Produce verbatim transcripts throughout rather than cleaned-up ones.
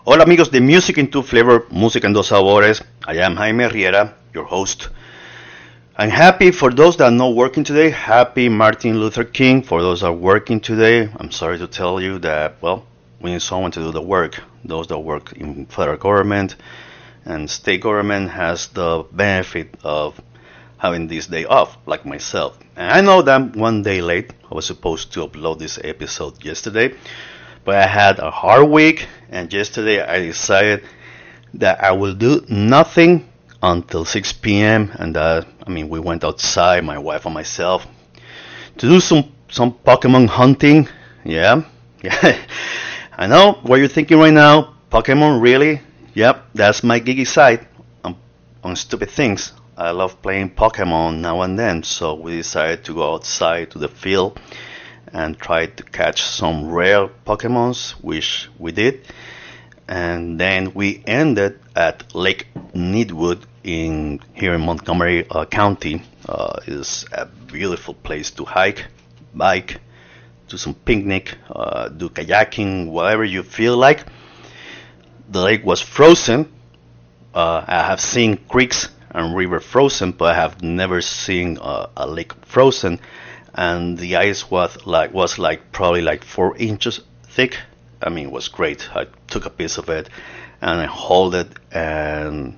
Hola amigos de Music in Two Flavor, Música en Dos Sabores. I am Jaime Riera, your host. I'm happy for those that are not working today. Happy Martin Luther King. For those that are working today, I'm sorry to tell you that, well, we need someone to do the work. Those that work in federal government and state government has the benefit of having this day off, like myself. And I know that I'm one day late. I was supposed to upload this episode yesterday, but I had a hard week, and yesterday I decided that I will do nothing until six p m. And uh, I mean, we went outside, my wife and myself, to do some some Pokemon hunting. Yeah, yeah. I know what you're thinking right now. Pokemon, really? Yep, that's my geeky side on, on stupid things. I love playing Pokemon now and then, so we decided to go outside to the field and try to catch some rare Pokemons, which we did. And then we ended at Lake Needwood in here in Montgomery uh, County. Uh, it's a beautiful place to hike, bike, do some picnic, uh, do kayaking, whatever you feel like. The lake was frozen. Uh, I have seen creeks and river frozen, but I have never seen uh, a lake frozen. And the ice was like was like probably like four inches thick. I mean, it was great. I took a piece of it and I held it, and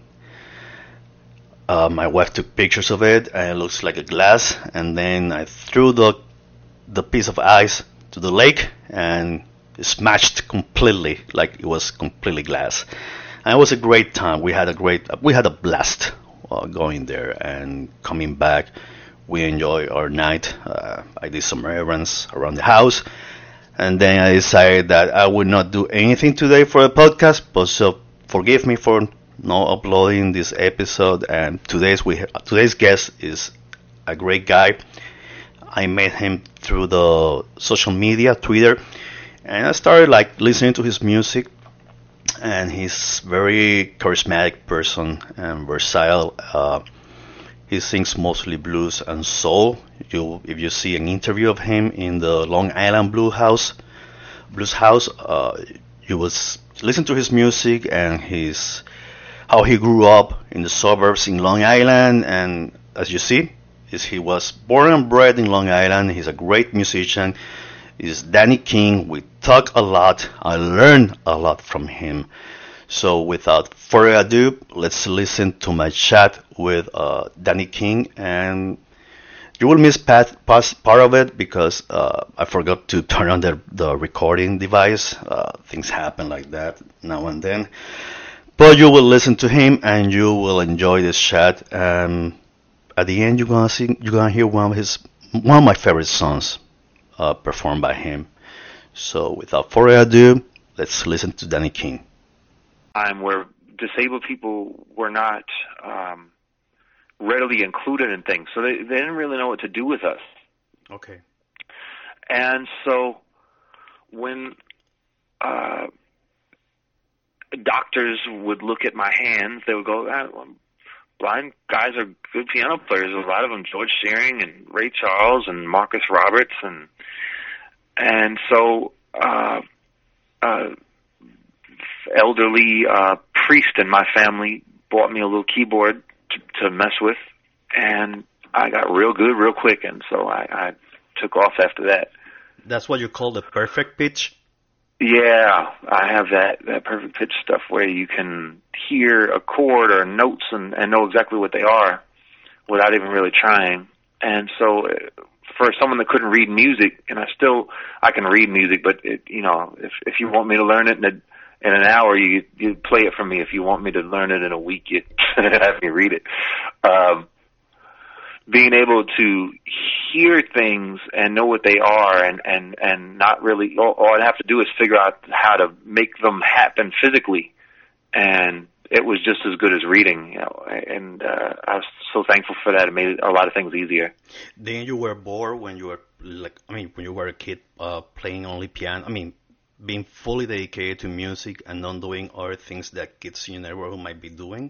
uh, my wife took pictures of it, and it looks like a glass. And then I threw the the piece of ice to the lake, and it smashed completely, like it was completely glass. And it was a great time. We had a great, we had a blast uh, going there and coming back. We enjoyed our night. Uh, I did some errands around the house, and then I decided that I would not do anything today for the podcast. But so forgive me for not uploading this episode. And today's we today's guest is a great guy. I met him through the social media, Twitter, and I started like listening to his music. And he's very charismatic person and versatile. Uh, He sings mostly blues and soul. You, if you see an interview of him in the Long Island Blue House, Blues House, uh, you will s- listen to his music and his how he grew up in the suburbs in Long Island. And as you see, is he was born and bred in Long Island. He's a great musician. He's Danny King. We talk a lot. I learned a lot from him. So without further ado, let's listen to my chat with uh, Danny King, and you will miss part, part of it because uh, I forgot to turn on the, the recording device. Uh, things happen like that now and then. But you will listen to him and you will enjoy this chat. And at the end, you're gonna see, you're gonna hear one of his one of my favorite songs uh, performed by him. So without further ado, let's listen to Danny King. Time where disabled people were not um, readily included in things, so they, they didn't really know what to do with us. Okay. And so when uh, doctors would look at my hands, they would go, ah, well, blind guys are good piano players. A lot of them, George Shearing and Ray Charles and Marcus Roberts, and and so uh, uh, elderly uh, priest in my family bought me a little keyboard to, to mess with, and I got real good real quick, and so I, I took off after that. That's what you call the perfect pitch? Yeah, I have that, that perfect pitch stuff where you can hear a chord or notes and, and know exactly what they are without even really trying. And so for someone that couldn't read music, and I still, I can read music, but it, you know, if, if you want me to learn it in, a, in an hour, you, you play it for me. If you want me to learn it in a week, you have me read it. Um, being able to hear things and know what they are, and, and, and not really, all, all I'd have to do is figure out how to make them happen physically. And it was just as good as reading, you know, and uh, I was so thankful for that. It made a lot of things easier. Then you were bored when you were, like, I mean, when you were a kid uh, playing only piano, I mean, being fully dedicated to music and not doing other things that kids in your neighborhood might be doing?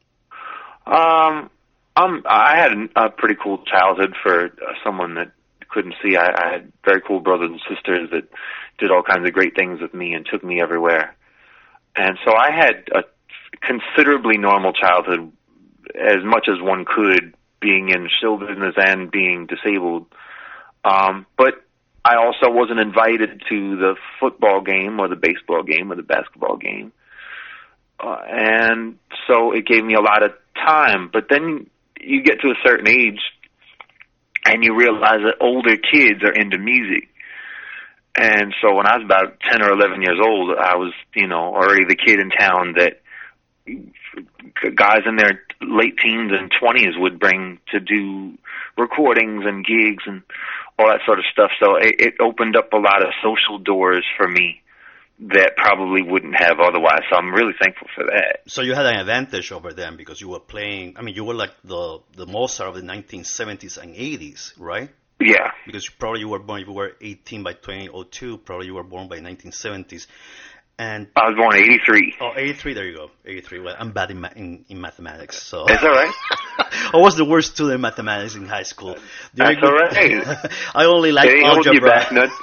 Um, Um, I had a pretty cool childhood for uh, someone that couldn't see. I, I had very cool brothers and sisters that did all kinds of great things with me and took me everywhere. And so I had a considerably normal childhood, as much as one could, being in show business and being disabled. Um, but I also wasn't invited to the football game or the baseball game or the basketball game. Uh, and so it gave me a lot of time. But then you get to a certain age and you realize that older kids are into music. And so when I was about ten or eleven years old, I was, you know, already the kid in town that guys in their late teens and twenties would bring to do recordings and gigs and all that sort of stuff. So it, it opened up a lot of social doors for me that probably wouldn't have otherwise. So I'm really thankful for that. So you had an advantage over them because you were playing, I mean, you were like the, the Mozart of the nineteen seventies and eighties, right? Yeah. Because probably you were born, if you were eighteen by twenty oh two, probably you were born by nineteen seventies. And I was born in eighty-three. Oh, eighty-three, there you go. eighty-three. Well, I'm bad in, ma- in, in mathematics, so. That's all right. I was the worst student in mathematics in high school. That's all right. I only like it algebra. Hold you back, nuts.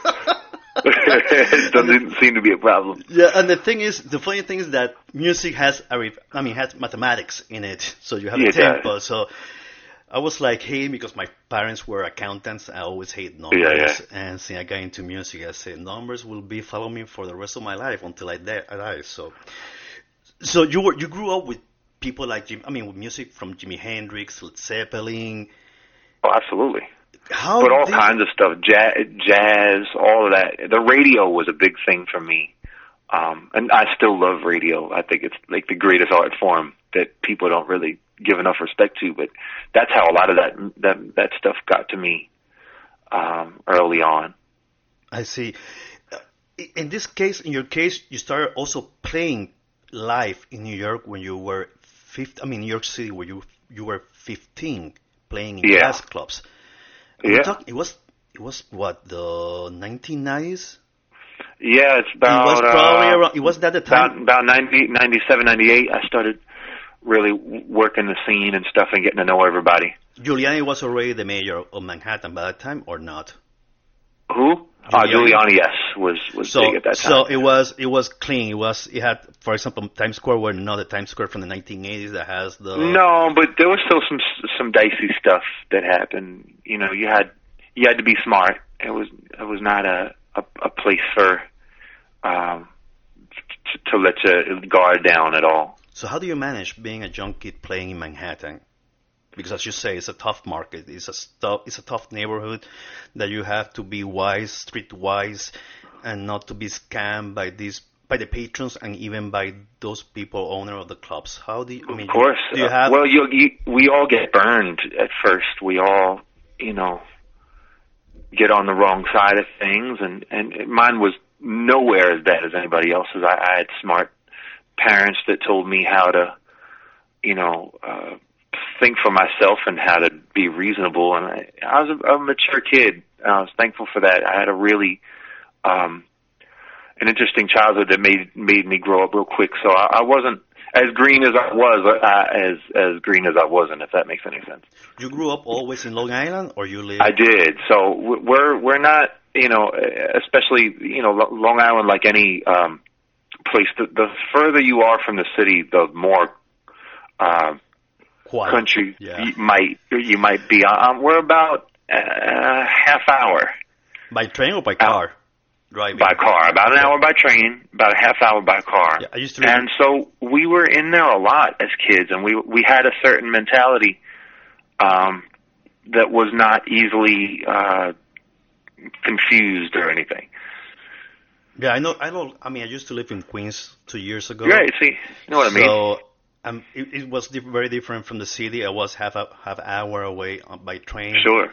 It doesn't seem to be a problem. Yeah, and the thing is, the funny thing is that music has, a re- I mean, has mathematics in it, so you have Yeah, a it does. tempo. So I was like, hey, because my parents were accountants, I always hate numbers. Yeah, yeah. And since I got into music, I said, numbers will be follow me for the rest of my life until I die. I die. So, so you were you grew up with people like Jim. I mean, with music from Jimi Hendrix, Led Zeppelin. Oh, absolutely. How? But all did- kinds of stuff, jazz, jazz, all of that. The radio was a big thing for me. Um, and I still love radio. I think it's like the greatest art form that people don't really give enough respect to, but that's how a lot of that that, that stuff got to me um, early on. I see. Uh, In this case, in your case, you started also playing live in New York when you were fifteen. I mean, New York City, where you you were fifteen, playing in Yeah. jazz clubs. And Yeah. we talk- it was it was what, the nineteen nineties? Yeah, it's about it was probably uh, around. It was that the about time. about ninety, ninety-seven, ninety-eight. I started really working the scene and stuff and getting to know everybody. Giuliani was already the mayor of Manhattan by that time, or not? Who? Uh, Giuliani? Giuliani, yes, was was So, big at that time. so it was it was clean. It was it had, for example, Times Square were not the Times Square from the nineteen eighties that has the. No, but there was still some some dicey stuff that happened. You know, you had you had to be smart. It was it was not a a, a place for um to, to let your guard down at all. So how do you manage being a young kid playing in Manhattan? Because as you say, it's a tough market. It's a tough, it's a tough neighborhood that you have to be wise, street wise, and not to be scammed by these by the patrons and even by those people, owner of the clubs. How do you? I mean, Of course. do you Uh, have? well, you, you we all get burned at first. We all, you know, get on the wrong side of things, and and mine was nowhere as bad as anybody else's. I, I had smart parents that told me how to, you know, uh, think for myself and how to be reasonable. And I, I was a, a mature kid. And I was thankful for that. I had a really um, an interesting childhood that made made me grow up real quick. So I, I wasn't as green as I was, uh, as as green as I wasn't, if that makes any sense. You grew up always in Long Island, or you live? I did. So we're we're not, you know, especially, you know, Long Island, like any um, place. The, the further you are from the city, the more uh, Quiet. country Yeah. you might you might be. Um, we're about a half hour By train or by car? Driving. by car, about an hour by train, about a half hour by car. Yeah, I used to live. And so we were in there a lot as kids, and we we had a certain mentality um, that was not easily uh, confused or anything. Yeah, I know. I know. I mean, I used to live in Queens two years ago. Right? See, you know what I mean? So um, it, it was di- very different from the city. I was half a half hour away on- by train. Sure.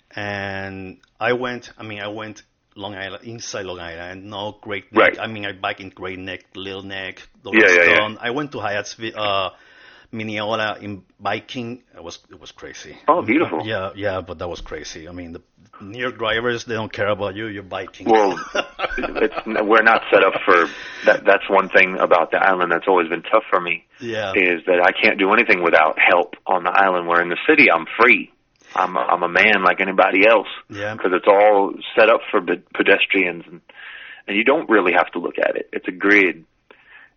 And I went. I mean, I went Long Island, inside Long Island. No Great Neck. Right. I mean, I bike in Great Neck, Little Neck, Yeah, yeah, yeah. Stone. I went to Hyattsville, uh, Mineola in biking. It was it was crazy. Oh, beautiful. Yeah, yeah, but that was crazy. I mean, the New York drivers, they don't care about you. You're biking. Well, it's, we're not set up for that. That's one thing about the island that's always been tough for me. Yeah. Is that I can't do anything without help on the island. Where in the city, I'm free. I'm a, I'm a man like anybody else. Yeah. Because it's all set up for pe- pedestrians, and and you don't really have to look at it. It's a grid,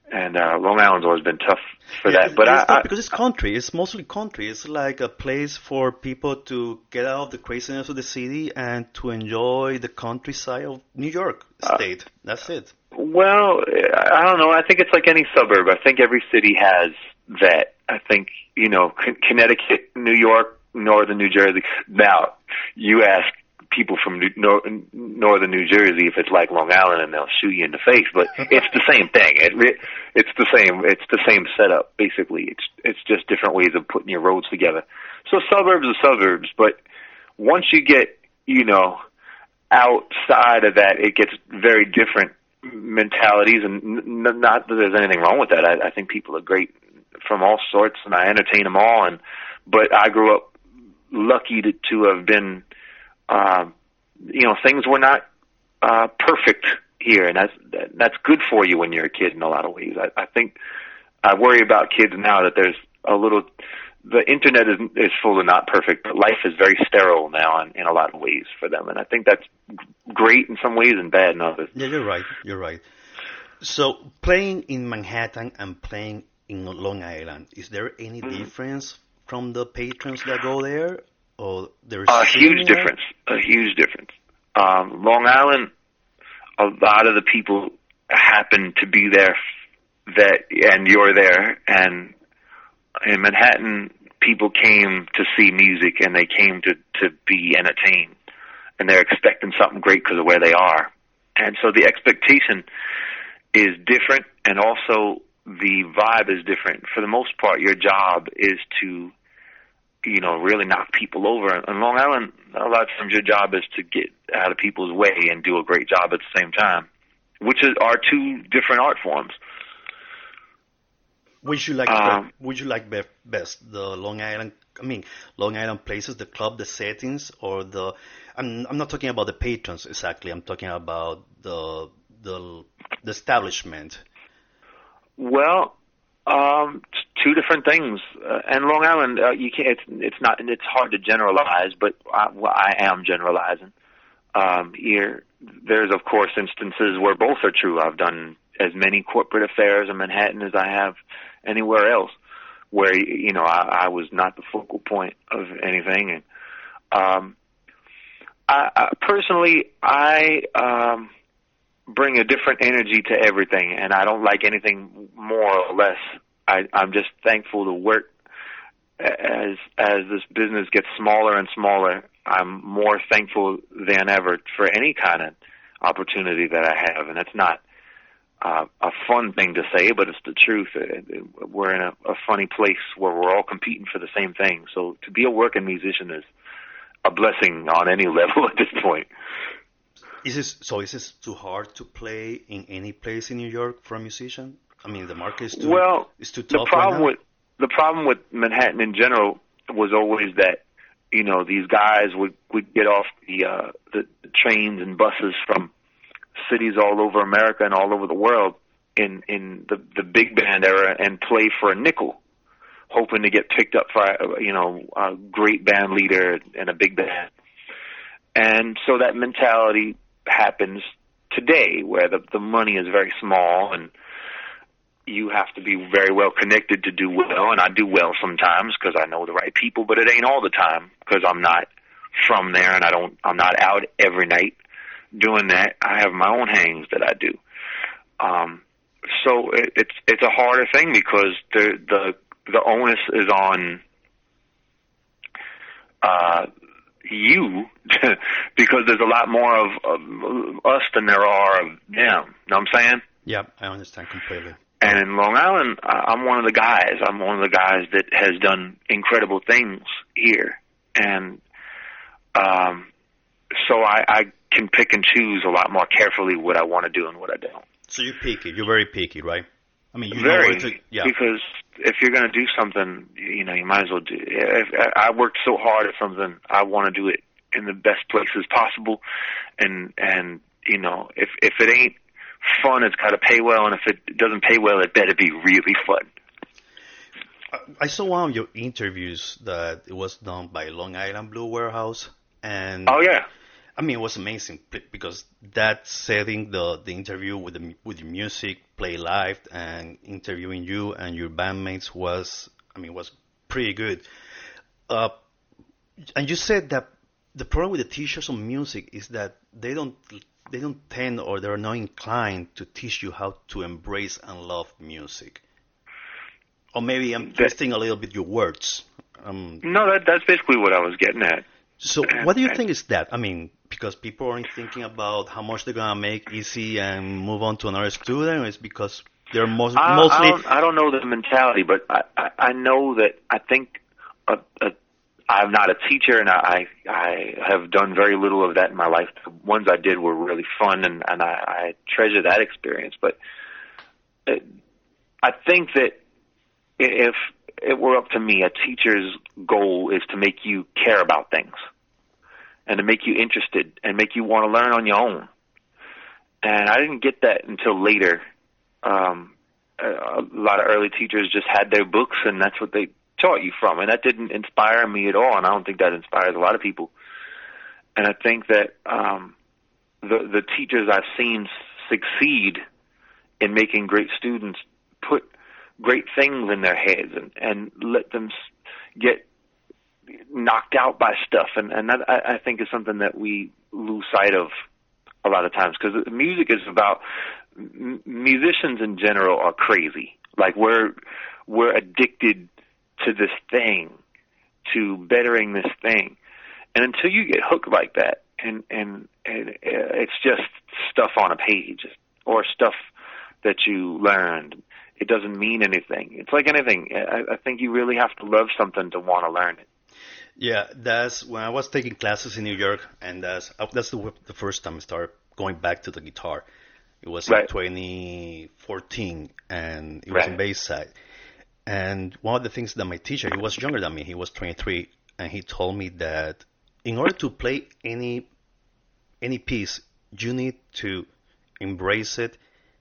and uh, Long Island's always been tough for Yeah, that. But it's I, not I because it's country. It's mostly country. It's like a place for people to get out of the craziness of the city and to enjoy the countryside of New York uh, State. That's it. well, I don't know. I think it's like any suburb. I think every city has that. I think you know, Con- Connecticut, New York, Northern New Jersey. Now, you ask people from New, nor- northern New Jersey if it's like Long Island, and they'll shoot you in the face. But it's the same thing. It, re- it's the same. It's the same setup. Basically, it's it's just different ways of putting your roads together. So suburbs are suburbs, but once you get you know outside of that, it gets very different mentalities. And n- not that there's anything wrong with that. I, I think people are great from all sorts, and I entertain them all. And but I grew up lucky to to have been. Uh, you know, things were not uh, perfect here, and that's that, that's good for you when you're a kid in a lot of ways. I, I think I worry about kids now that there's a little. The internet is is full of not perfect, but life is very sterile now in, in a lot of ways for them, and I think that's great in some ways and bad in others. Yeah, you're right. You're right. So playing in Manhattan and playing in Long Island, is there any Mm-hmm. difference from the patrons that go there? Or there's A huge difference. A huge difference. Um, Long Island, a lot of the people happen to be there that, and you're there. And in Manhattan, people came to see music and they came to, to be entertained. And they're expecting something great because of where they are. And so the expectation is different, and also the vibe is different. For the most part, your job is to you know, really knock people over. On Long Island, a lot of times your job is to get out of people's way and do a great job at the same time, which is, are two different art forms. Would you like Um, be- would you like be- best the Long Island? I mean, Long Island places, the club, the settings, or the? I'm I'm not talking about the patrons exactly. I'm talking about the the the establishment. well, um, t- two different things. Uh, and Long Island, uh, you can't. It's, it's not. It's hard to generalize, but I, well, I am generalizing. Um, here, there's of course instances where both are true. I've done as many corporate affairs in Manhattan as I have anywhere else, where you know I, I was not the focal point of anything. And um, I, I personally, I um, bring a different energy to everything, and I don't like anything more or less. I, I'm just thankful to work as as this business gets smaller and smaller. I'm more thankful than ever for any kind of opportunity that I have, and it's not uh, a fun thing to say, but it's the truth. We're in a, a funny place where we're all competing for the same thing. So to be a working musician is a blessing on any level at this point. Is this so? Is this too hard to play in any place in New York for a musician? I mean, the market is too well, is too the tough problem right now. with the problem with Manhattan in general was always that you know these guys would would get off the uh, the, the trains and buses from cities all over America and all over the world in in the the big band era and play for a nickel, hoping to get picked up for you know a great band leader and a big band. And so that mentality happens today, where the the money is very small and you have to be very well connected to do well, and I do well sometimes because I know the right people, but it ain't all the time because I'm not from there and I don't I'm not out every night doing that. I have my own hangs that I do. Um, so it, it's it's a harder thing because the the the onus is on uh, you because there's a lot more of, of us than there are of them. Know what I'm saying? Yeah, I understand completely. And in Long Island, I'm one of the guys. I'm one of the guys that has done incredible things here, and um, so I, I can pick and choose a lot more carefully what I want to do and what I don't. So you're picky. You're very picky, right? I mean, you Very, know where to, yeah. because if you're going to do something, you know, you might as well do. If I worked so hard at something, I want to do it in the best places possible, and and you know, if if it ain't fun, it's got to pay well, and if it doesn't pay well, it better be really fun. I saw one of your interviews that it was done by Long Island Blue Warehouse, and Oh yeah, I mean, it was amazing because that setting the the interview with the with your music, play live, and interviewing you and your bandmates was, I mean, was pretty good. Uh, and you said that the problem with the teachers on music is that they don't they don't tend or they're not inclined to teach you how to embrace and love music. Or maybe I'm twisting a little bit your words. Um, no, that that's basically what I was getting at. So what do you think is that? I mean, because people aren't thinking about how much they're gonna make easy and move on to another student, or it's because they're most, I, mostly. I don't, I don't know the mentality, but I, I, I know that I think a, a, I'm not a teacher, and I I have done very little of that in my life. The ones I did were really fun, and and I, I treasure that experience. But it, I think that if it were up to me, a teacher's goal is to make you care about things and to make you interested and make you want to learn on your own. And I didn't get that until later. Um, a lot of early teachers just had their books and that's what they taught you from. And that didn't inspire me at all. And I don't think that inspires a lot of people. And I think that um, the, the teachers I've seen succeed in making great students put great things in their heads and, and let them get knocked out by stuff. And, and that, I, I think is something that we lose sight of a lot of times, because music is about, m- musicians in general are crazy. Like we're, we're addicted to this thing, to bettering this thing. And until you get hooked like that, and, and, and it's just stuff on a page or stuff that you learned, it doesn't mean anything. It's like anything. I, I think you really have to love something to want to learn it. Yeah, that's when I was taking classes in New York, and that's that's the, the first time I started going back to the guitar. It was right. in twenty fourteen, and it was right. in Bayside. And one of the things that my teacher, he was younger than me, he was twenty-three, and he told me that in order to play any any piece, you need to embrace it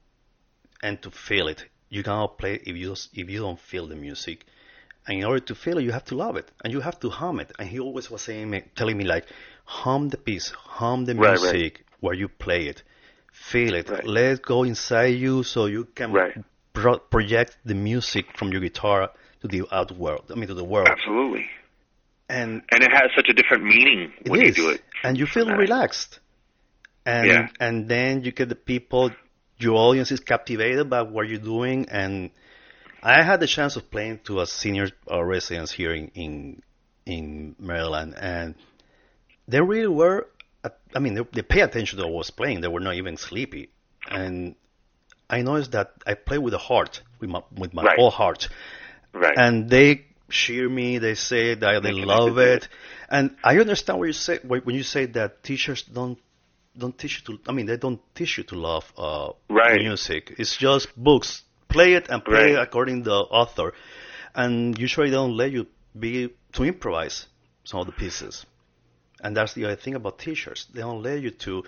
and to feel it. You cannot play if you if you don't feel the music. And in order to feel it, you have to love it, and you have to hum it. And he always was saying, telling me like, hum the piece, hum the right, music right. where you play it, feel it, right. let it go inside you, so you can right. pro- project the music from your guitar to the out world. I mean, to the world. Absolutely. And and it has such a different meaning when is. you do it. And you feel relaxed. And yeah. and then you get the people. Your audience is captivated by what you're doing, and I had the chance of playing to a senior uh, residents here in, in in Maryland, and they really were. I mean, they, they pay attention to what I was playing. They were not even sleepy, and I noticed that I play with a heart, with my with my right. whole heart, right. and they cheer me. They say that they love it, and I understand what you say when you say that teachers don't. Don't teach you to. I mean, they don't teach you to love uh, right. music. It's just books. Play it and play right. it according to the author, and usually they don't let you be to improvise some of the pieces. And that's the other thing about teachers. They don't let you to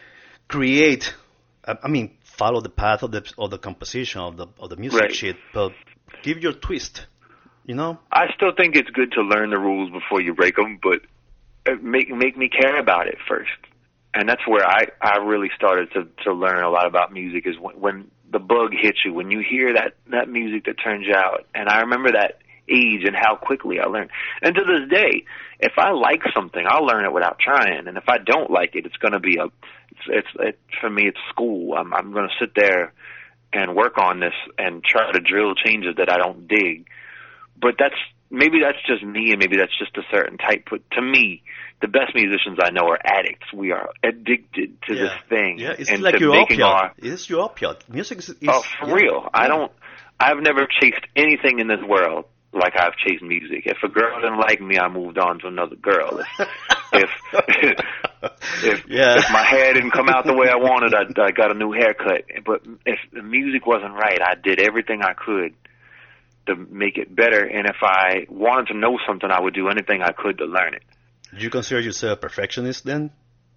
create. I mean, follow the path of the of the composition of the of the music right. sheet, but give your twist. You know. I still think it's good to learn the rules before you break them, but make make me care about it first. And that's where I, I really started to, to learn a lot about music, is when, when the bug hits you, when you hear that, that music that turns you out. And I remember that age and how quickly I learned. And to this day, if I like something, I'll learn it without trying. And if I don't like it, it's going to be a, it's, it's it, for me, it's school. I'm, I'm going to sit there and work on this and try to drill changes that I don't dig. But that's, maybe that's just me, and maybe that's just a certain type. But to me, the best musicians I know are addicts. We are addicted to yeah. this thing. Yeah, it's and like your opiate. Our, it's your opiate. Music is. is oh, for yeah. real. Yeah. I don't. I've never chased anything in this world like I've chased music. If a girl didn't like me, I moved on to another girl. If if if, yeah. if my hair didn't come out the way I wanted, I, I got a new haircut. But if the music wasn't right, I did everything I could to make it better. And if I wanted to know something, I would do anything I could to learn it. Do you consider yourself a perfectionist then?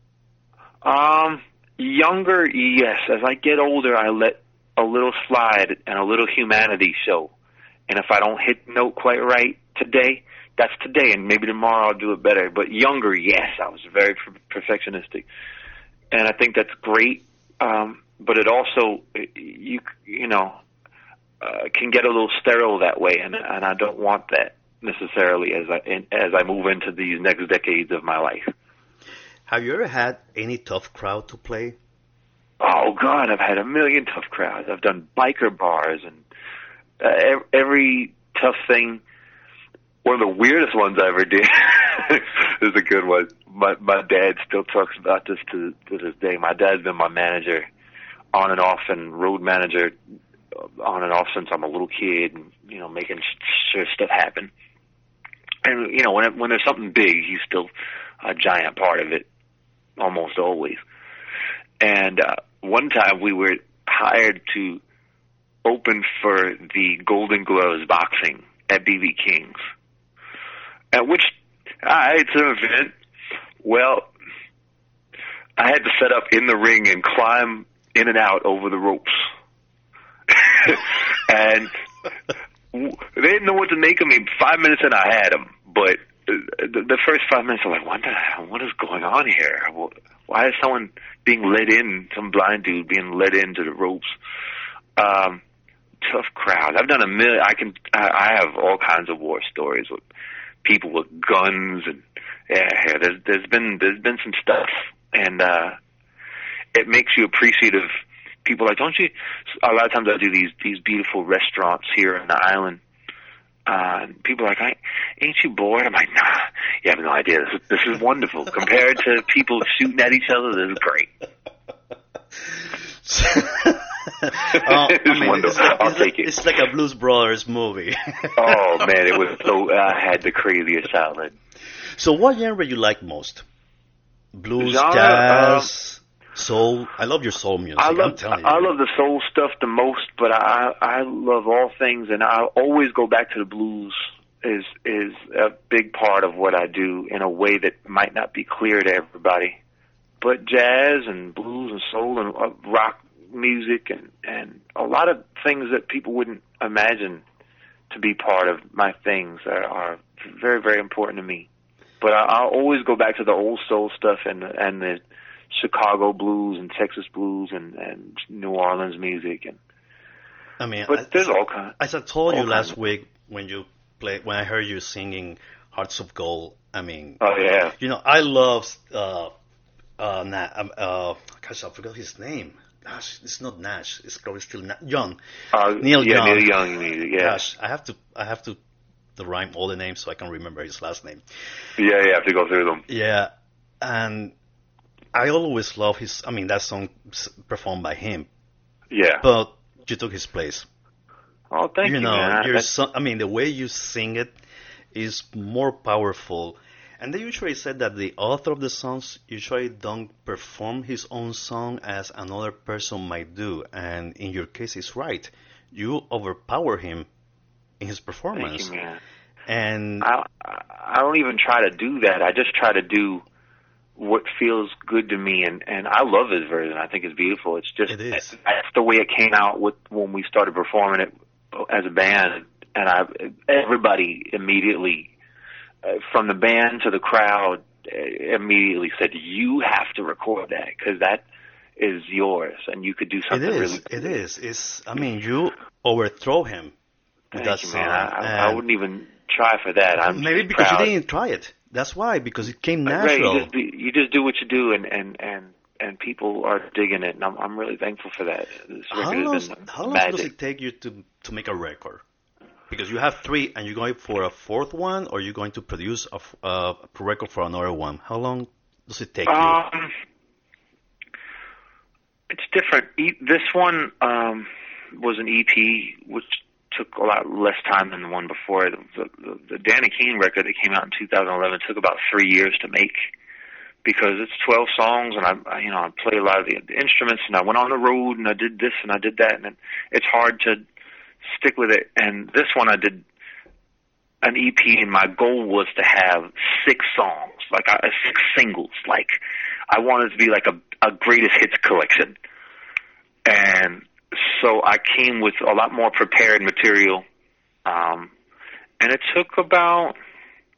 Um, younger, yes. As I get older, I let a little slide and a little humanity show. And if I don't hit the note quite right today, that's today, and maybe tomorrow I'll do it better. But younger, yes, I was very perfectionistic, and I think that's great. Um, but it also, you you know, uh, can get a little sterile that way, and and I don't want that necessarily as I in, as I move into these next decades of my life. Have you ever had any tough crowd to play? Oh God, I've had a million tough crowds. I've done biker bars and uh, every tough thing. One of the weirdest ones I ever did is a good one. My my dad still talks about this to to this day. My dad's been my manager on and off, and road manager on and off since I'm a little kid, and you know, making sure stuff happen. And you know, when it, when there's something big, he's still a giant part of it, almost always. And uh, one time we were hired to open for the Golden Gloves boxing at B B King's. At which, uh, it's an event. Well, I had to set up in the ring and climb in and out over the ropes. And they didn't know what to make of me. Five minutes in, I had them. But the, the first five minutes, I'm like, what, the, what is going on here? Why is someone being led in, some blind dude being led into the ropes? Um, tough crowd. I've done a million. I can. I, I have all kinds of war stories with people with guns, and yeah, there's there's been there's been some stuff, and uh, it makes you appreciative. People are like, don't you? A lot of times I do these these beautiful restaurants here on the island. Uh, and people are like, I, ain't you bored? I'm like, nah, you have no idea. This is, this is wonderful. Compared to people shooting at each other, this is great. Oh, it's I mean, wonderful. it's like, I'll it's take like, it. It's like a Blues Brothers movie. Oh, man, it was so, I had the craziest childhood. So what genre you like most? Blues, Genre, jazz, um, soul? I love your soul music, I love, I'm telling you. I love the soul stuff the most, but I, I love all things, and I always go back to the blues. Is is a big part of what I do in a way that might not be clear to everybody. But jazz and blues and soul and uh, rock music and, and a lot of things that people wouldn't imagine to be part of my things are, are very, very important to me. But I, I'll always go back to the old soul stuff and and the Chicago blues and Texas blues and, and New Orleans music. And I mean, but I, there's all kinds. As I told you last kinds. week when you play, when I heard you singing Hearts of Gold, I mean, oh yeah, you know, I love uh, uh, Na- uh, gosh, I forgot his name. Gosh, it's not Nash. It's probably still Na- Young. uh, Neil yeah, Young. Neil Young music. Yeah, Gosh, I have to, I have to, to rhyme all the names so I can remember his last name. yeah, you have to go through them. Yeah, and I always love his. I mean, that song performed by him. Yeah, But you took his place. oh, thank you, You know, man. you're That's- so, I mean, the way you sing it is more powerful. And they usually said that the author of the songs usually don't perform his own song as another person might do. And in your case, it's right. You overpower him in his performance. Thank you, man. And I I don't even try to do that. I just try to do what feels good to me, and and I love his version. I think it's beautiful. It's just It is. that's the way it came out with when we started performing it as a band, and I everybody immediately uh, from the band to the crowd uh, immediately said, "You have to record that because that is yours, and you could do it something is. really." It is. It's. I mean, you overthrow him with Thank that you, song. man. I, I, I And wouldn't even try for that. I'm maybe just because proud. you didn't try it. That's why. Because it came Right, natural. you just, do, you just do what you do, and, and, and, and people are digging it, and I'm I'm really thankful for that. This How record long, has been how long magic. does it take you to, to make a record? Because you have three, and you're going for a fourth one, or you're going to produce a, f- uh, a record for another one. How long does it take you? Um, it's different. E- this one um, was an E P, which took a lot less time than the one before. The, the, the Danny Keane record that came out in two thousand eleven took about three years to make because it's twelve songs, and I, I you know, I play a lot of the, the instruments, and I went on the road, and I did this, and I did that, and it, it's hard to stick with it. And this one I did an E P, and my goal was to have six songs, like uh, six singles. Like I wanted it to be like a, a greatest hits collection, and so I came with a lot more prepared material, um, and it took about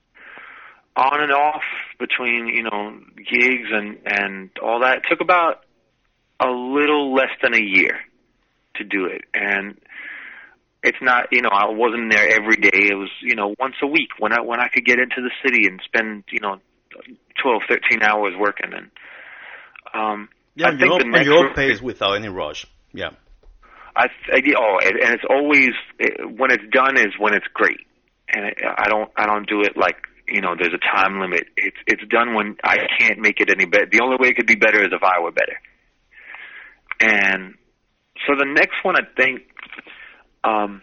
on and off between, you know, gigs and, and all that. It took about a little less than a year to do it. And it's not, you know, I wasn't there every day. It was, you know, once a week when I, when I could get into the city and spend, you know, twelve, thirteen hours working. And, um, yeah, I you think know, the next your re- pace without any rush. Yeah. I, I oh, and and it's always, it, when it's done is when it's great. And it, I don't, I don't do it like, you know, there's a time limit. It's, it's done when I can't make it any better. The only way it could be better is if I were better. And so the next one, I think, um,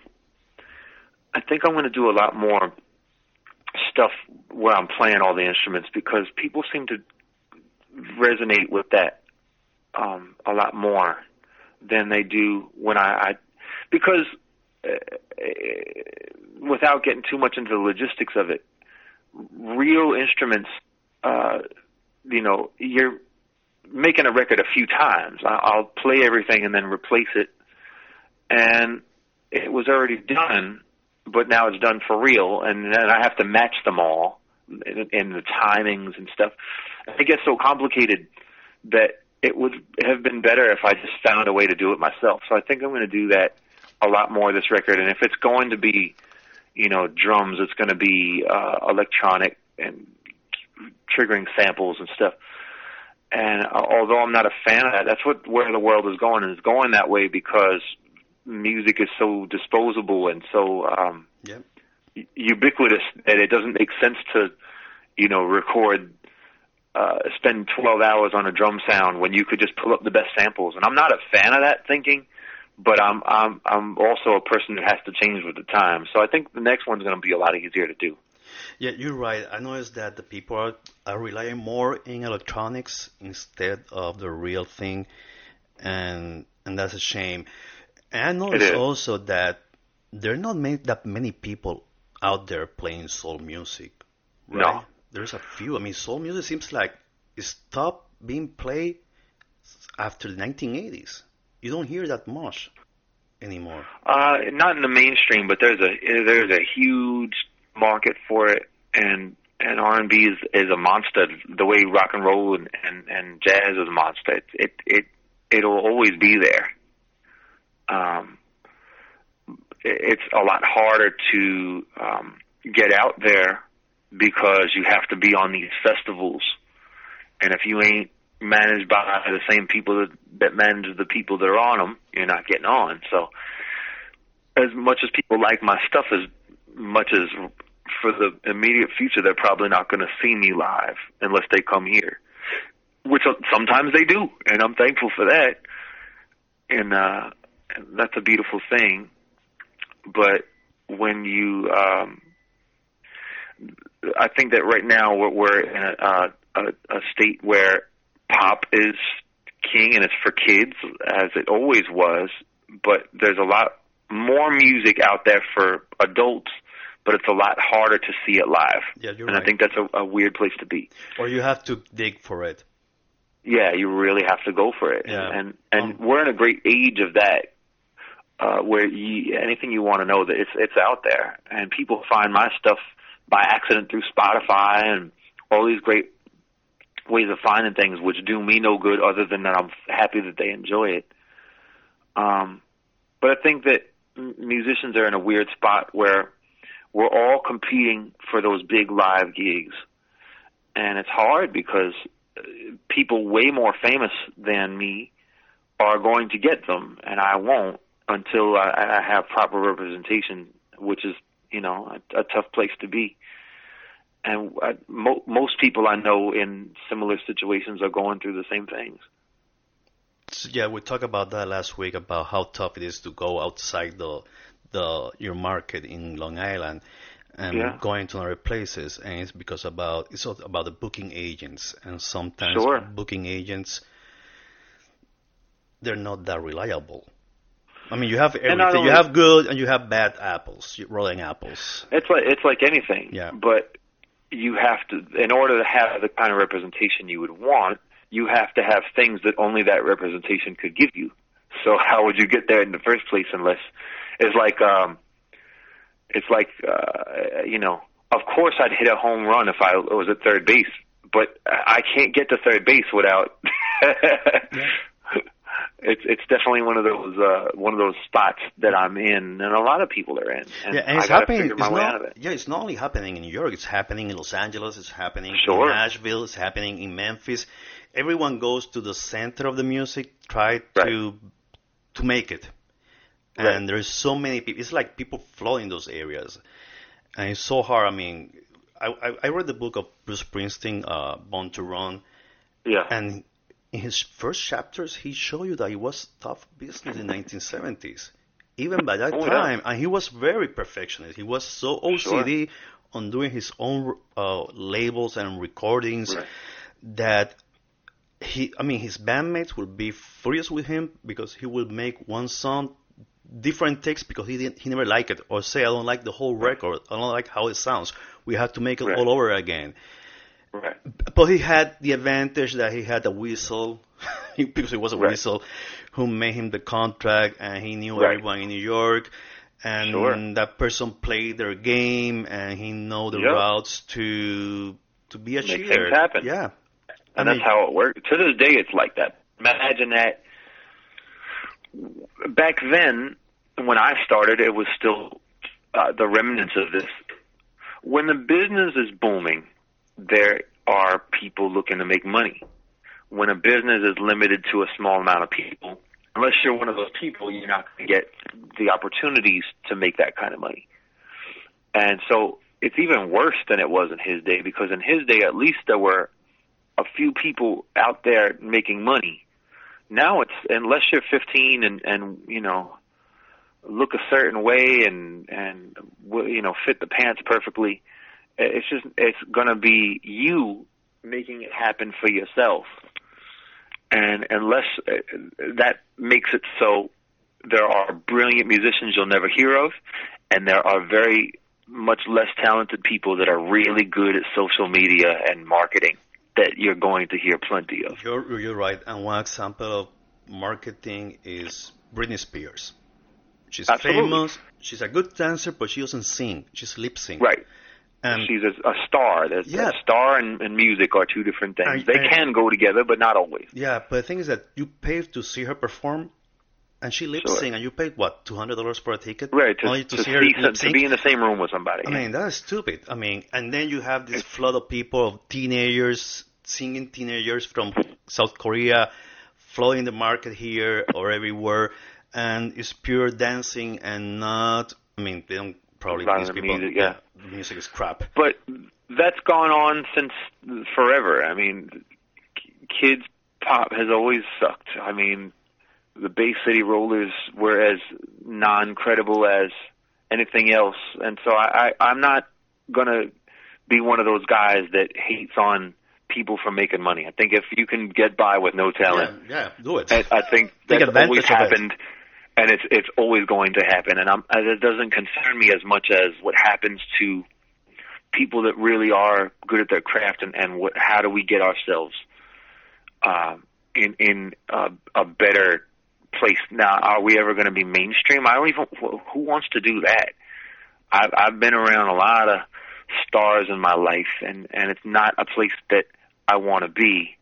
I think I'm going to do a lot more stuff where I'm playing all the instruments, because people seem to resonate with that um, a lot more than they do when I, I because uh, without getting too much into the logistics of it, real instruments, uh, you know, you're making a record a few times. I'll play everything and then replace it, and it was already done, but now it's done for real, and then I have to match them all in, in the timings and stuff. It gets so complicated that it would have been better if I just found a way to do it myself. So I think I'm going to do that a lot more this record, and if it's going to be, you know, drums, it's going to be uh, electronic and triggering samples and stuff. And although I'm not a fan of that, that's what where the world is going, and it's going that way because music is so disposable and so um, yeah. ubiquitous that it doesn't make sense to, you know, record, uh, spend twelve hours on a drum sound when you could just pull up the best samples. And I'm not a fan of that thinking, but I'm I'm I'm also a person who has to change with the time. So I think the next one's going to be a lot easier to do. Yeah, you're right. I noticed that the people are, are relying more in electronics instead of the real thing, and and that's a shame. And I noticed also that there are not many, that many people out there playing soul music. Right? No. There's a few. I mean, soul music seems like it stopped being played after the nineteen eighties. You don't hear that much anymore. Uh, not in the mainstream, but there's a there's a huge market for it, and and R and B is is a monster. The way rock and roll and, and, and jazz is a monster. It it it it'll always be there. Um, it's a lot harder to um, get out there because you have to be on these festivals, and if you ain't managed by the same people that, that manage the people that are on them, you're not getting on. So, as much as people like my stuff, as much as for the immediate future, they're probably not going to see me live unless they come here, which sometimes they do, and I'm thankful for that. And uh, that's a beautiful thing. But when you, um, I think that right now we're, we're in a, uh, a, a state where pop is king and it's for kids, as it always was. But there's a lot more music out there for adults, but it's a lot harder to see it live. Yeah, you're and right. I think that's a, a weird place to be. Or you have to dig for it. Yeah, you really have to go for it. Yeah. And and Um, we're in a great age of that, uh, where you, anything you want to know, that it's it's out there, and people find my stuff by accident through Spotify and all these great ways of finding things, which do me no good other than that I'm happy that they enjoy it. Um, but I think that m- musicians are in a weird spot where we're all competing for those big live gigs, and it's hard because people way more famous than me are going to get them, and I won't until I, I have proper representation, which is, you know, a, a tough place to be. And I, mo- most people I know in similar situations are going through the same things. So, yeah, we talked about that last week about how tough it is to go outside the the your market in Long Island and Yeah. going to other places, and it's because about it's also about the booking agents, and sometimes Sure. booking agents, they're not that reliable. I mean, you have And not everything. You only- have good and you have bad apples, rolling apples. It's like it's like anything. Yeah. But you have to, in order to have the kind of representation you would want, you have to have things that only that representation could give you. So how would you get there in the first place unless it's like um it's like uh you know, of course I'd hit a home run if I was at third base, but I can't get to third base without. yeah. It's it's definitely one of those uh, one of those spots that I'm in, and a lot of people are in. And yeah, and it's I gotta happening. figure my It's way not, out of it. Yeah, it's not only happening in New York. It's happening in Los Angeles. It's happening sure. in Nashville. It's happening in Memphis. Everyone goes to the center of the music, try to right. to make it, and right. there's so many people. It's like people flow in those areas, and it's so hard. I mean, I I, I read the book of Bruce Springsteen, uh, Born to Run. Yeah, and in his first chapters, he showed you that it was tough business in the nineteen seventies, even by that oh, time. Yeah. And he was very perfectionist. He was so O C D sure. on doing his own uh, labels and recordings right. that he, I mean, his bandmates would be furious with him because he would make one song different takes because he didn't, he never liked it, or say, I don't like the whole record, I don't like how it sounds. We have to make it right. all over again. Right. But he had the advantage that he had a whistle, because he was a right. whistle, who made him the contract, and he knew right. everyone in New York, and sure. that person played their game, and he know the yep. routes to to be a Make cheater. things happen. Yeah, and I that's mean, how it works. To this day, it's like that. Imagine that. Back then, when I started, it was still uh, the remnants of this. When the business is booming, there are people looking to make money. When a business is limited to a small amount of people, unless you're one of those people, you're not going to get the opportunities to make that kind of money. And so it's even worse than it was in his day, because in his day, at least there were a few people out there making money. Now it's, unless you're fifteen and, and you know, look a certain way and, and, you know, fit the pants perfectly, it's just, it's going to be you making it happen for yourself. And unless uh, that makes it so there are brilliant musicians you'll never hear of, and there are very much less talented people that are really good at social media and marketing that you're going to hear plenty of. You're, you're right. And one example of marketing is Britney Spears. She's Absolutely. famous. She's a good dancer, but she doesn't sing. She's lip sync. Right. And she's a, a star. There's, yeah. A star and, and music are two different things. And, they and, can go together, but not always. Yeah, but the thing is that you pay to see her perform, and she lip sync, sure. and you paid what, two hundred dollars for a ticket, right? To, only to, to see her see lip sync, to be in the same room with somebody. I yeah. mean, that's stupid. I mean, and then you have this flood of people, of teenagers, singing teenagers from South Korea, flooding the market here or everywhere, and it's pure dancing and not. I mean, they don't probably these people. Music, yeah, the music is crap. But that's gone on since forever. I mean, kids pop has always sucked. I mean, the Bay City Rollers were as non-credible as anything else, and so I, I I'm not gonna be one of those guys that hates on people for making money. I think if you can get by with no talent, yeah, yeah do it. I, I think that's always happened, and it's it's always going to happen. And I'm, it doesn't concern me as much as what happens to people that really are good at their craft, and, and what, how do we get ourselves uh, in in a, a better place. Now, are we ever going to be mainstream? I don't even. Who wants to do that? I've I've been around a lot of stars in my life, and and it's not a place that I want to be,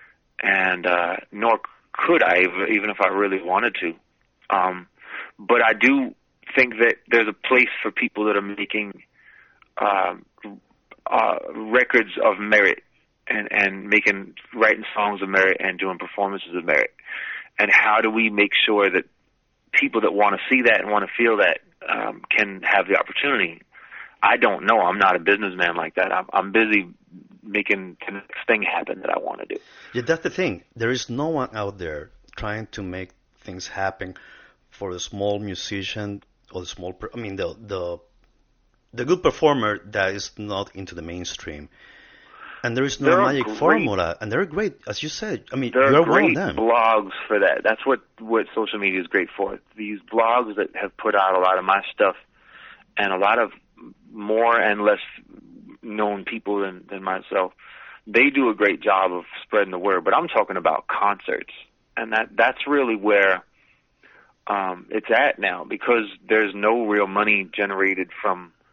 and uh, nor could I, even if I really wanted to. Um, but I do think that there's a place for people that are making uh, uh, records of merit, and and making writing songs of merit and doing performances of merit. And how do we make sure that people that want to see that and want to feel that um, can have the opportunity? I don't know. I'm not a businessman like that. I'm, I'm busy making the next thing happen that I want to do. Yeah, that's the thing. There is no one out there trying to make things happen for the small musician or the small. Per- I mean, the the the good performer that is not into the mainstream. And there is no there magic great, formula, and they're great, as you said. I mean, there you're are great one of them. blogs for that. That's what, what social media is great for. These blogs that have put out a lot of my stuff, and a lot of more and less known people than, than myself, they do a great job of spreading the word. But I'm talking about concerts, and that that's really where um, it's at now, because there's no real money generated from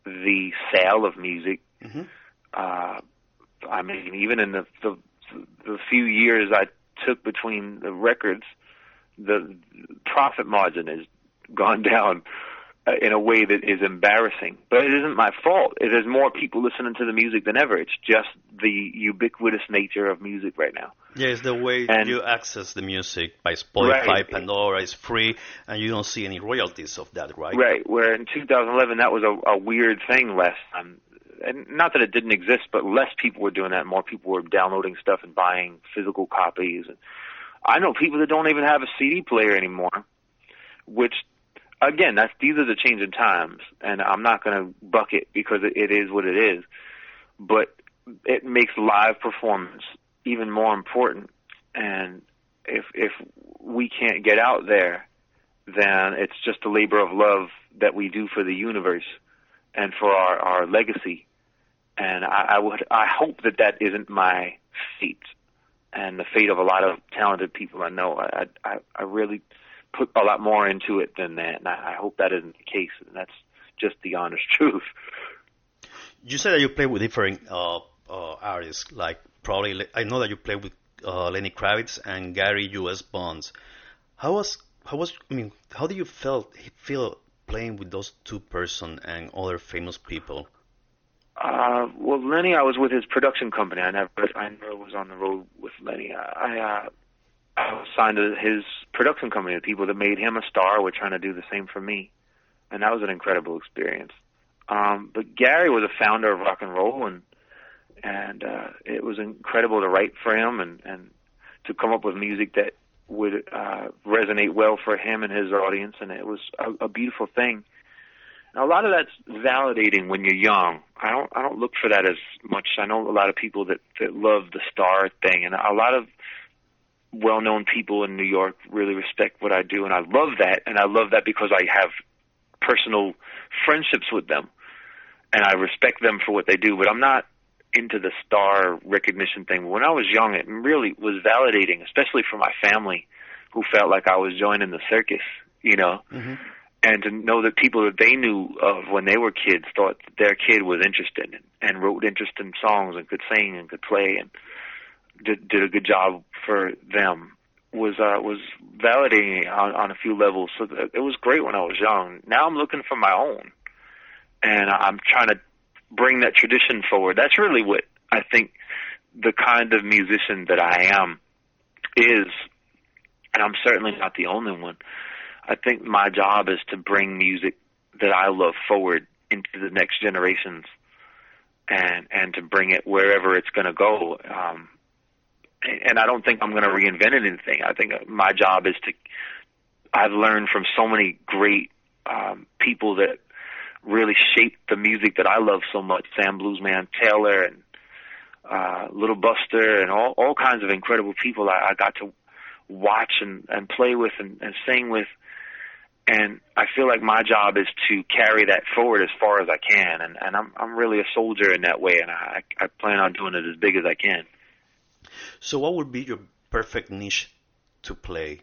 the sale of music. Mm-hmm. Uh, I mean, even in the, the the few years I took between the records, the profit margin has gone down in a way that is embarrassing. But it isn't my fault. It is more people listening to the music than ever. It's just the ubiquitous nature of music right now. Yeah, it's the way and, you access the music by Spotify, right. Pandora is free, and you don't see any royalties of that, right? Right, where in two thousand eleven that was a, a weird thing last time. And not that it didn't exist, but less people were doing that. More people were downloading stuff and buying physical copies. And I know people that don't even have a C D player anymore, which, again, that's these are the changing times. And I'm not going to buck it because it, it is what it is. But it makes live performance even more important. And if if we can't get out there, then it's just a labor of love that we do for the universe and for our, our legacy. And I, I would, I hope that that isn't my fate and the fate of a lot of talented people I know. I, I, I really put a lot more into it than that, and I, I hope that isn't the case. And that's just the honest truth. You said that you play with different uh, uh, artists, like probably I know that you play with uh, Lenny Kravitz and Gary U S Bonds. How was how was I mean how do you felt feel playing with those two person and other famous people? Uh, well, Lenny, I was with his production company. I never, I never was on the road with Lenny. I, uh, I was signed to his production company. The people that made him a star were trying to do the same for me, and that was an incredible experience. Um, but Gary was a founder of rock and roll, and and uh, it was incredible to write for him and and to come up with music that would uh, resonate well for him and his audience, and it was a, a beautiful thing. Now, a lot of that's validating when you're young. I don't I don't look for that as much. I know a lot of people that, that love the star thing, and a lot of well-known people in New York really respect what I do, and I love that, and I love that because I have personal friendships with them, and I respect them for what they do, but I'm not into the star recognition thing. When I was young, it really was validating, especially for my family, who felt like I was joining the circus, you know. Mm-hmm. And to know that people that they knew of when they were kids thought their kid was interested and, and wrote interesting songs and could sing and could play and did, did a good job for them was uh, was validating on, on a few levels. So that it was great when I was young. Now I'm looking for my own, and I'm trying to bring that tradition forward. That's really what I think the kind of musician that I am is, and I'm certainly not the only one. I think my job is to bring music that I love forward into the next generations, and and to bring it wherever it's going to go. Um, and I don't think I'm going to reinvent anything. I think my job is to. I've learned from so many great um, people that really shaped the music that I love so much. Sam Bluesman Taylor and uh, Little Buster and all all kinds of incredible people I, I got to watch and, and play with and, and sing with. And I feel like my job is to carry that forward as far as I can, and, and I'm I'm really a soldier in that way, and I I plan on doing it as big as I can. So, what would be your perfect niche to play?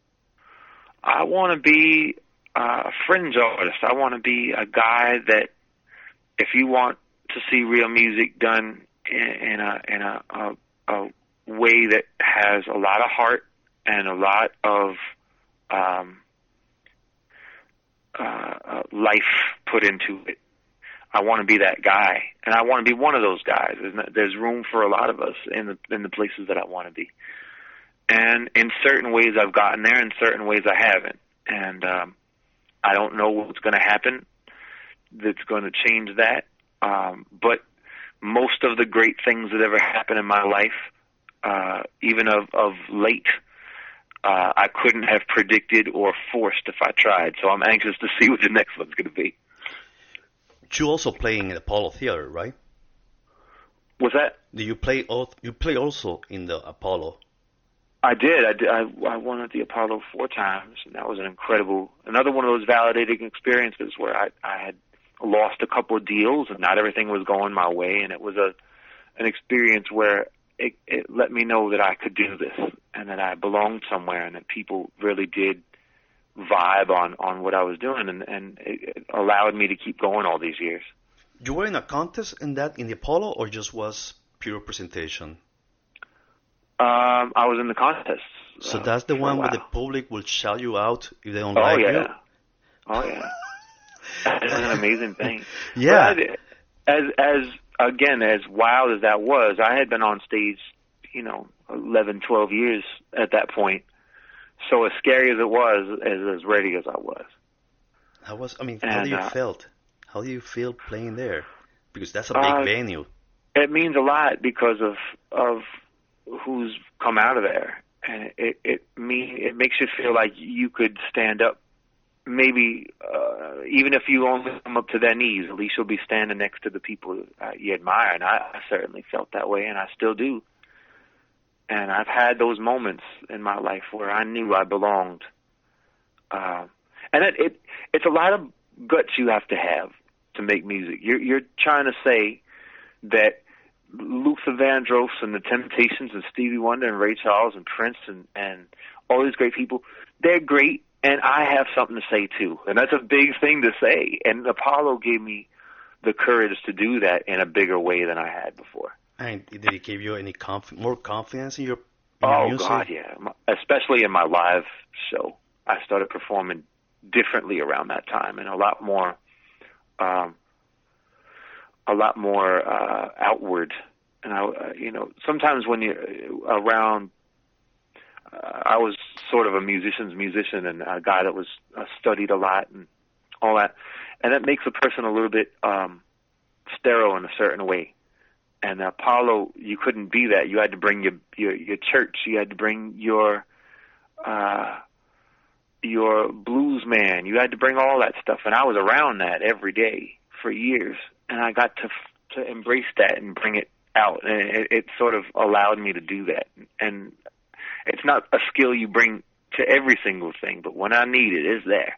I want to be a fringe artist. I want to be a guy that, if you want to see real music done in, in a in a, a a way that has a lot of heart and a lot of um, Uh, uh, life put into it. I want to be that guy, and I want to be one of those guys. There's, no, there's room for a lot of us in the in the places that I want to be. And in certain ways, I've gotten there. In certain ways, I haven't. And um, I don't know what's going to happen that's going to change that. Um, but most of the great things that ever happened in my life, uh, even of of late. Uh, I couldn't have predicted or forced if I tried, so I'm anxious to see what the next one's going to be. You also play in the Apollo Theater, right? What's that? Do you play? You play also in the Apollo? I did. I did. I, I won at the Apollo four times, and that was an incredible, another one of those validating experiences where I, I had lost a couple of deals, and not everything was going my way, and it was a an experience where It, it let me know that I could do this and that I belonged somewhere and that people really did vibe on, on what I was doing, and, and it, it allowed me to keep going all these years. You were in a contest in that in the Apollo, or just was pure presentation? Um, I was in the contest So uh, that's the for a one where the while. public will shout you out if they don't Oh like you. yeah, oh yeah. It's an amazing thing. Yeah. But I, as as again as wild as that was, I had been on stage, you know, eleven, twelve years at that point. So as scary as it was, as as ready as I was. How was, I mean, how do And you uh, felt? How do you feel playing there? Because that's a big uh, venue. it means a lot because of of who's come out of there, and it it mean it makes you feel like you could stand up. Maybe uh, even if you only come up to their knees, at least you'll be standing next to the people uh, you admire. And I, I certainly felt that way, and I still do. And I've had those moments in my life where I knew I belonged. Uh, and it, it it's a lot of guts you have to have to make music. You're you're trying to say that Luther Vandross and the Temptations and Stevie Wonder and Ray Charles and Prince and, and all these great people, they're great, and I have something to say too. And that's a big thing to say. And Apollo gave me the courage to do that in a bigger way than I had before. And did it give you any conf- more confidence in your, in your Oh, music? God, yeah. Especially in my live show. I started performing differently around that time and a lot more, um, a lot more uh, outward. And, I, uh, you know, sometimes when you're around, uh, I was sort of a musician's musician and a guy that was uh, studied a lot and all that. And that makes a person a little bit um, sterile in a certain way. And Apollo, you couldn't be that. You had to bring your your, your church. You had to bring your uh, your blues man. You had to bring all that stuff. And I was around that every day for years, and I got to to embrace that and bring it out. And it, it sort of allowed me to do that. And it's not a skill you bring to every single thing, but when I need it, it's there.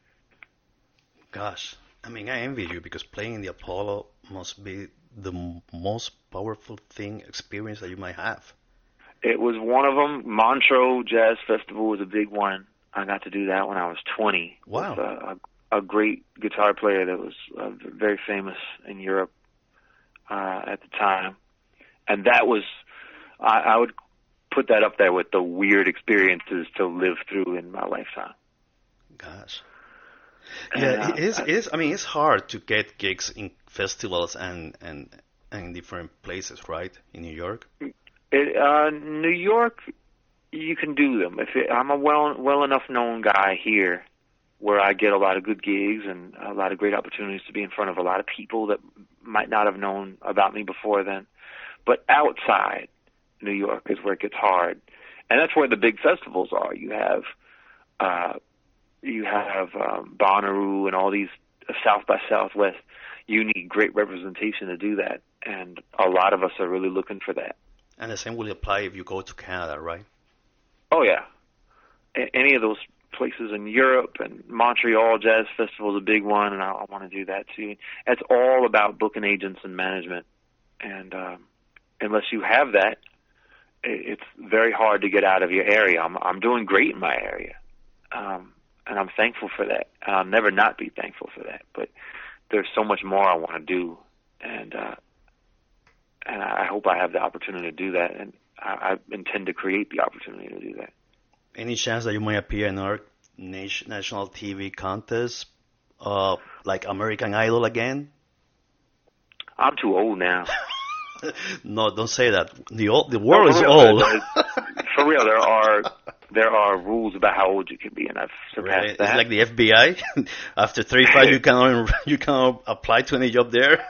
Gosh, I mean, I envy you because playing the Apollo must be the m- most powerful thing, experience that you might have. It was one of them. Montreux Jazz Festival was a big one. I got to do that when I was twenty. Wow. With a, a, a great guitar player that was uh, very famous in Europe uh, at the time. And that was, I, I would put that up there with the weird experiences to live through in my lifetime. Gosh. And, Yeah, uh, it is, it is. I mean, it's hard to get gigs in festivals and, and, and in different places, right? In New York? It, uh, New York, you can do them. If it, I'm a well well enough known guy here, where I get a lot of good gigs and a lot of great opportunities to be in front of a lot of people that might not have known about me before then. But outside New York is where it gets hard, and that's where the big festivals are. You have uh, you have um, Bonnaroo and all these uh, South by Southwest. You need great representation to do that, and a lot of us are really looking for that. And the same will apply if you go to Canada, right? Oh, yeah. A- any of those places in Europe, and Montreal Jazz Festival is a big one, and I, I want to do that too. It's all about booking agents and management, and um, unless you have that, it, it's very hard to get out of your area. I'm, I'm doing great in my area, um, and I'm thankful for that. And I'll never not be thankful for that, but there's so much more I want to do, and uh, and I hope I have the opportunity to do that, and I, I intend to create the opportunity to do that. Any chance that you might appear in our nation, national T V contest, uh, like American Idol again? I'm too old now. No, don't say that. The old, the world No, is for real, old. For real, there are there are rules about how old you can be, and I've surpassed Really? that. It's like the F B I. After thirty-five, you cannot you cannot apply to any job there.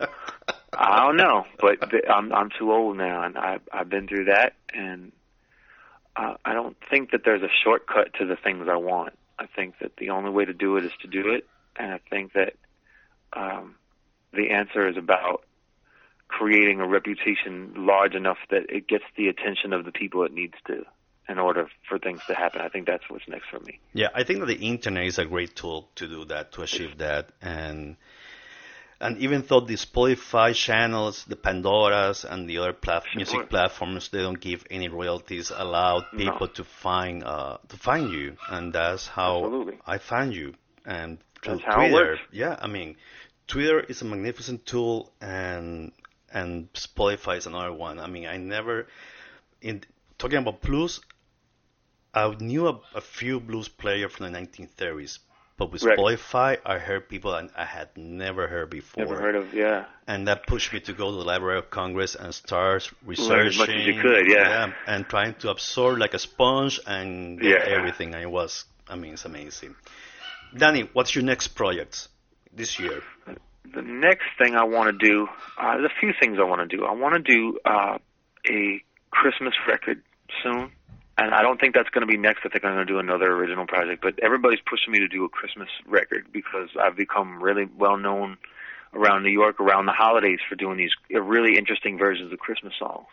I don't know, but th- I'm I'm too old now, and I I've been through that, and uh, I don't think that there's a shortcut to the things I want. I think that the only way to do it is to do it, and I think that um, the answer is about creating a reputation large enough that it gets the attention of the people it needs to in order for things to happen. I think that's what's next for me. Yeah, I think that the internet is a great tool to do that, to achieve that, and and even though the Spotify channels, the Pandoras, and the other plat- music platforms, they don't give any royalties, allow people No. to find uh, to find you, and that's how Absolutely. I found you, and through That's how it Twitter. works. Yeah, I mean, Twitter is a magnificent tool, and and Spotify is another one. I mean, I never in talking about blues. I knew a, a few blues players from the nineteen thirties, but with Right. Spotify, I heard people I, I had never heard before. Never heard of, yeah. And that pushed me to go to the Library of Congress and start researching. Learn as much as you could, yeah. And trying to absorb like a sponge and get Yeah. everything. And it was, I mean, it's amazing. Danny, what's your next project this year? The next thing I want to do, uh, there's a few things I want to do. I want to do uh, a Christmas record soon. And I don't think that's going to be next. I think I'm going to do another original project. But everybody's pushing me to do a Christmas record because I've become really well known around New York around the holidays for doing these really interesting versions of Christmas songs.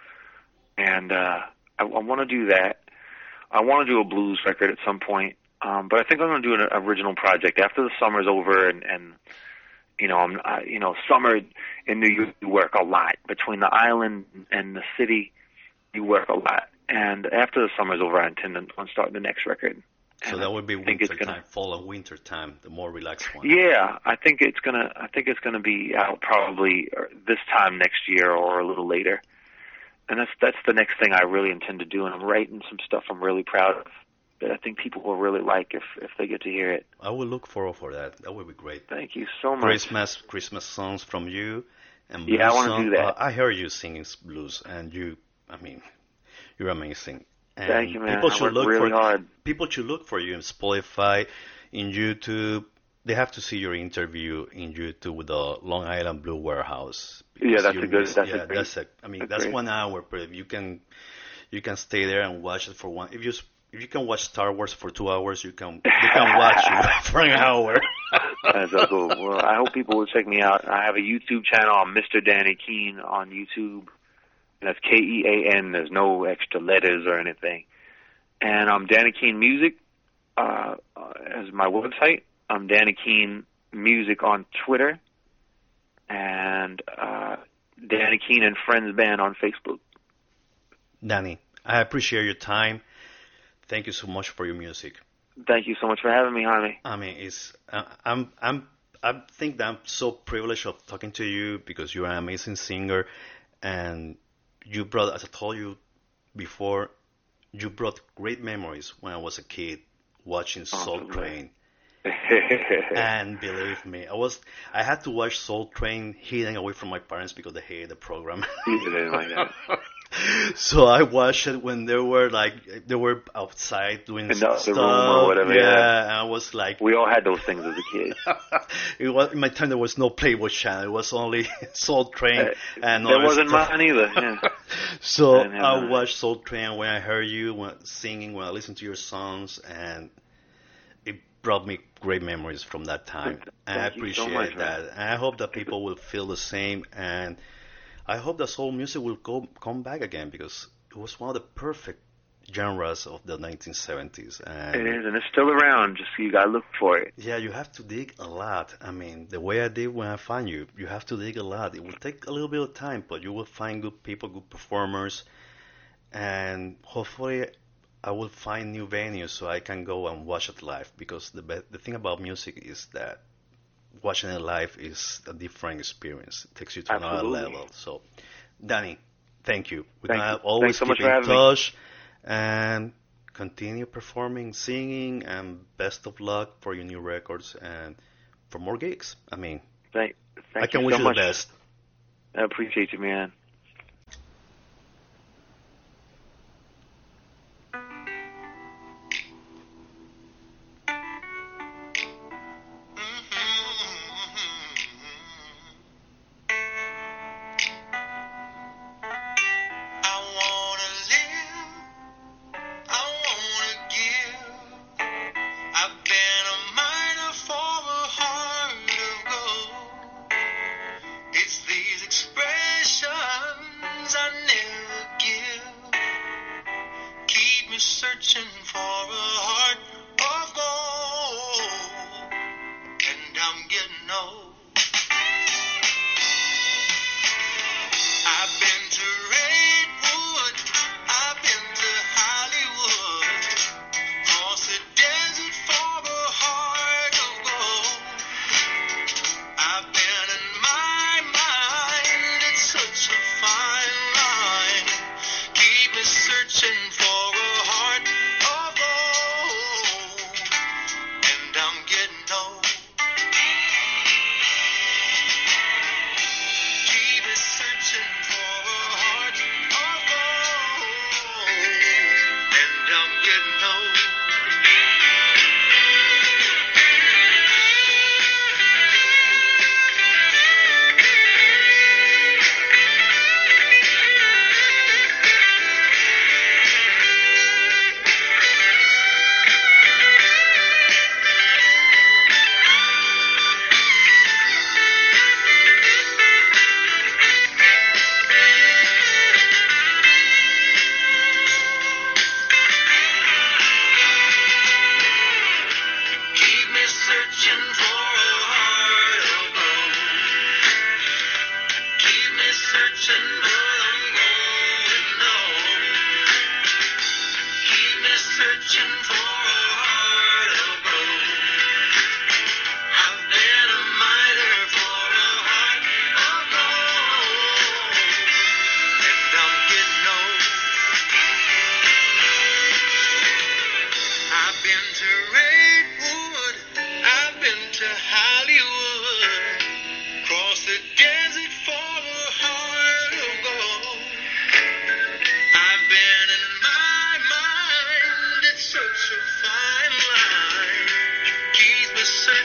And uh, I, I want to do that. I want to do a blues record at some point. Um, but I think I'm going to do an original project after the summer's over, and, and you know, I'm, I, you know, summer in New York, you work a lot. Between the island and the city, you work a lot. And after the summer's over, I intend on starting the next record. So And that would be I think winter it's gonna- time, fall and winter time, the more relaxed one. Yeah, I think it's gonna. I think it's gonna be out probably uh, this time next year or a little later. And that's that's the next thing I really intend to do. And I'm writing some stuff I'm really proud of that I think people will really like if if they get to hear it. I will look forward for that. That would be great. Thank you so much. Christmas, Christmas songs from you, and blues Yeah, I wanna song- do that. Uh, I heard you singing blues, and you, I mean, you're amazing. And Thank you, man. People I should work look really for hard. people should look for you in Spotify, in YouTube. They have to see your interview in YouTube with the Long Island Blue Warehouse. Yeah, that's You a good- miss- that's a yeah, great- that's a. I mean, a that's great- one hour, but if you can, you can stay there and watch it for one. If you s- if you can watch Star Wars for two hours, you can you can watch it for an hour. That's so cool. Well, I hope people will check me out. I have a YouTube channel. I'm Mister Danny Keene on YouTube. And that's K E A N. There's no extra letters or anything. And I'm Danny Keene Music uh, uh, as my website. I'm Danny Keene Music on Twitter. And uh, Danny Keene and Friends Band on Facebook. Danny, I appreciate your time. Thank you so much for your music. Thank you so much for having me, Jaime. I mean, it's uh, I'm I'm I think that I'm so privileged of talking to you because you're an amazing singer, and you brought, as I told you before, you brought great memories when I was a kid watching Soul Awesome. Train. And believe me, I was I had to watch Soul Train hidden away from my parents because they hated the program. You didn't like that. So I watched it when they were like they were outside doing In the stuff. other room or whatever, Yeah, yeah. and I was like, We all had those things as a kid. it was in my time there was no Playboy channel. It was only Soul Train Uh, and that other wasn't stuff. mine either. Yeah. So I didn't have I that. watched Soul Train when I heard you when singing, when I listened to your songs, and it brought me great memories from that time. And I Thank you so appreciate much, that. man. And I hope that people will feel the same. And I hope that soul music will go come back again because it was one of the perfect genres of the nineteen seventies. And It is, and it's still around. Just you gotta look for it. yeah, you have to dig a lot. I mean, the way I did when I found you, you have to dig a lot. It will take a little bit of time, but you will find good people, good performers, and hopefully I will find new venues so I can go and watch it live. Because the be- the thing about music is that watching it live is a different experience. It takes you to another Absolutely. level. So, Danny, thank you. We're Thank gonna you. always Thanks so much keep for in having me. touch and continue performing, singing, and best of luck for your new records and for more gigs. I mean, Thank, thank I can you wish so you much. the best. I appreciate you, man. I wanna live, I wanna give. I've been a miner for a heart of gold. It's these expressions I never give. Keep me searching for a heart of gold. And I'm getting old. I've been to Redwood, I've been to Hollywood, across the desert for a heart of gold. I've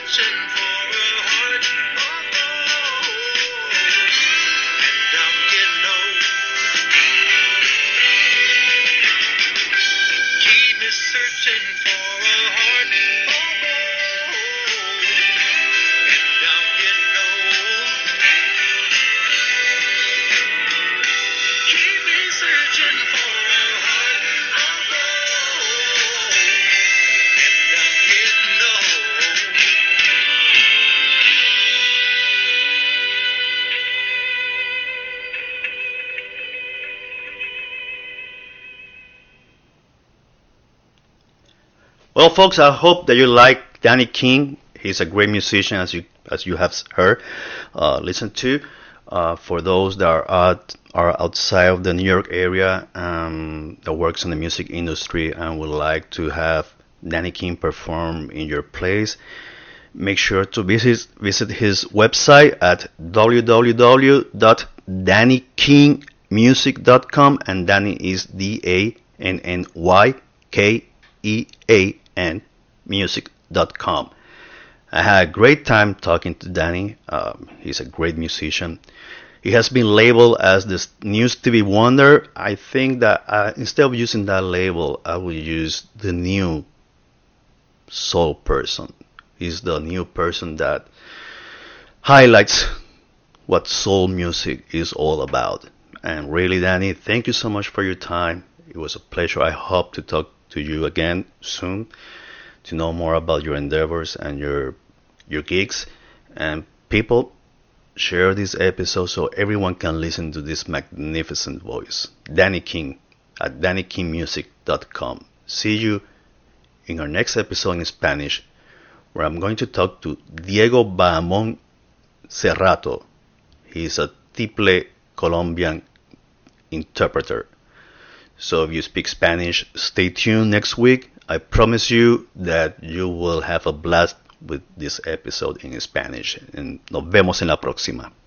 searching for a heart of gold, and I'm getting old. Keep me searching for a heart of gold, and I'm getting old. Keep me searching for a heart of gold, and I'm getting old. Well, folks, I hope that you like Danny King. He's a great musician, as you as you have heard, uh, listened to. Uh, for those that are out, are outside of the New York area, um, that works in the music industry and would like to have Danny King perform in your place, make sure to visit visit his website at w w w dot danny king music dot com, and Danny is D A N N Y K E A N music dot com. I had a great time talking to Danny. Um, he's a great musician. He has been labeled as this new Stevie Wonder. I think that uh, instead of using that label, I would use the new soul person. He's the new person that highlights what soul music is all about. And really, Danny, thank you so much for your time. It was a pleasure. I hope to talk to you again soon to know more about your endeavors and your your gigs. And people, share this episode so everyone can listen to this magnificent voice. Danny King at danny king music dot com. See you in our next episode in Spanish, where I'm going to talk to Diego Bahamón Cerrato. He is a tiple Colombian interpreter. So if you speak Spanish, stay tuned next week. I promise you that you will have a blast with this episode in Spanish. And nos vemos en la próxima.